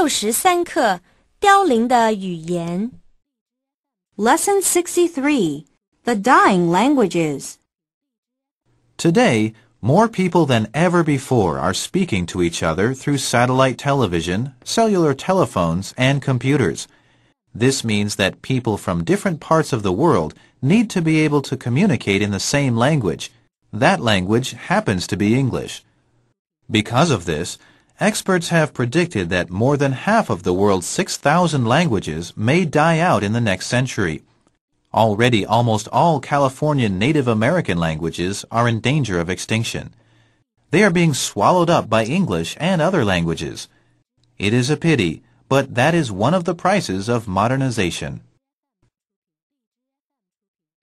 63课凋零的语言 Lesson 63 The Dying Languages Today, more people than ever before are speaking to each other through satellite television, cellular telephones, and computers. This means that people from different parts of the world need to be able to communicate in the same language. That language happens to be English. Because of this, experts have predicted that more than half of the world's 6,000 languages may die out in the next century. Already, almost all Californian Native American languages are in danger of extinction. They are being swallowed up by English and other languages. It is a pity, but that is one of the prices of modernization.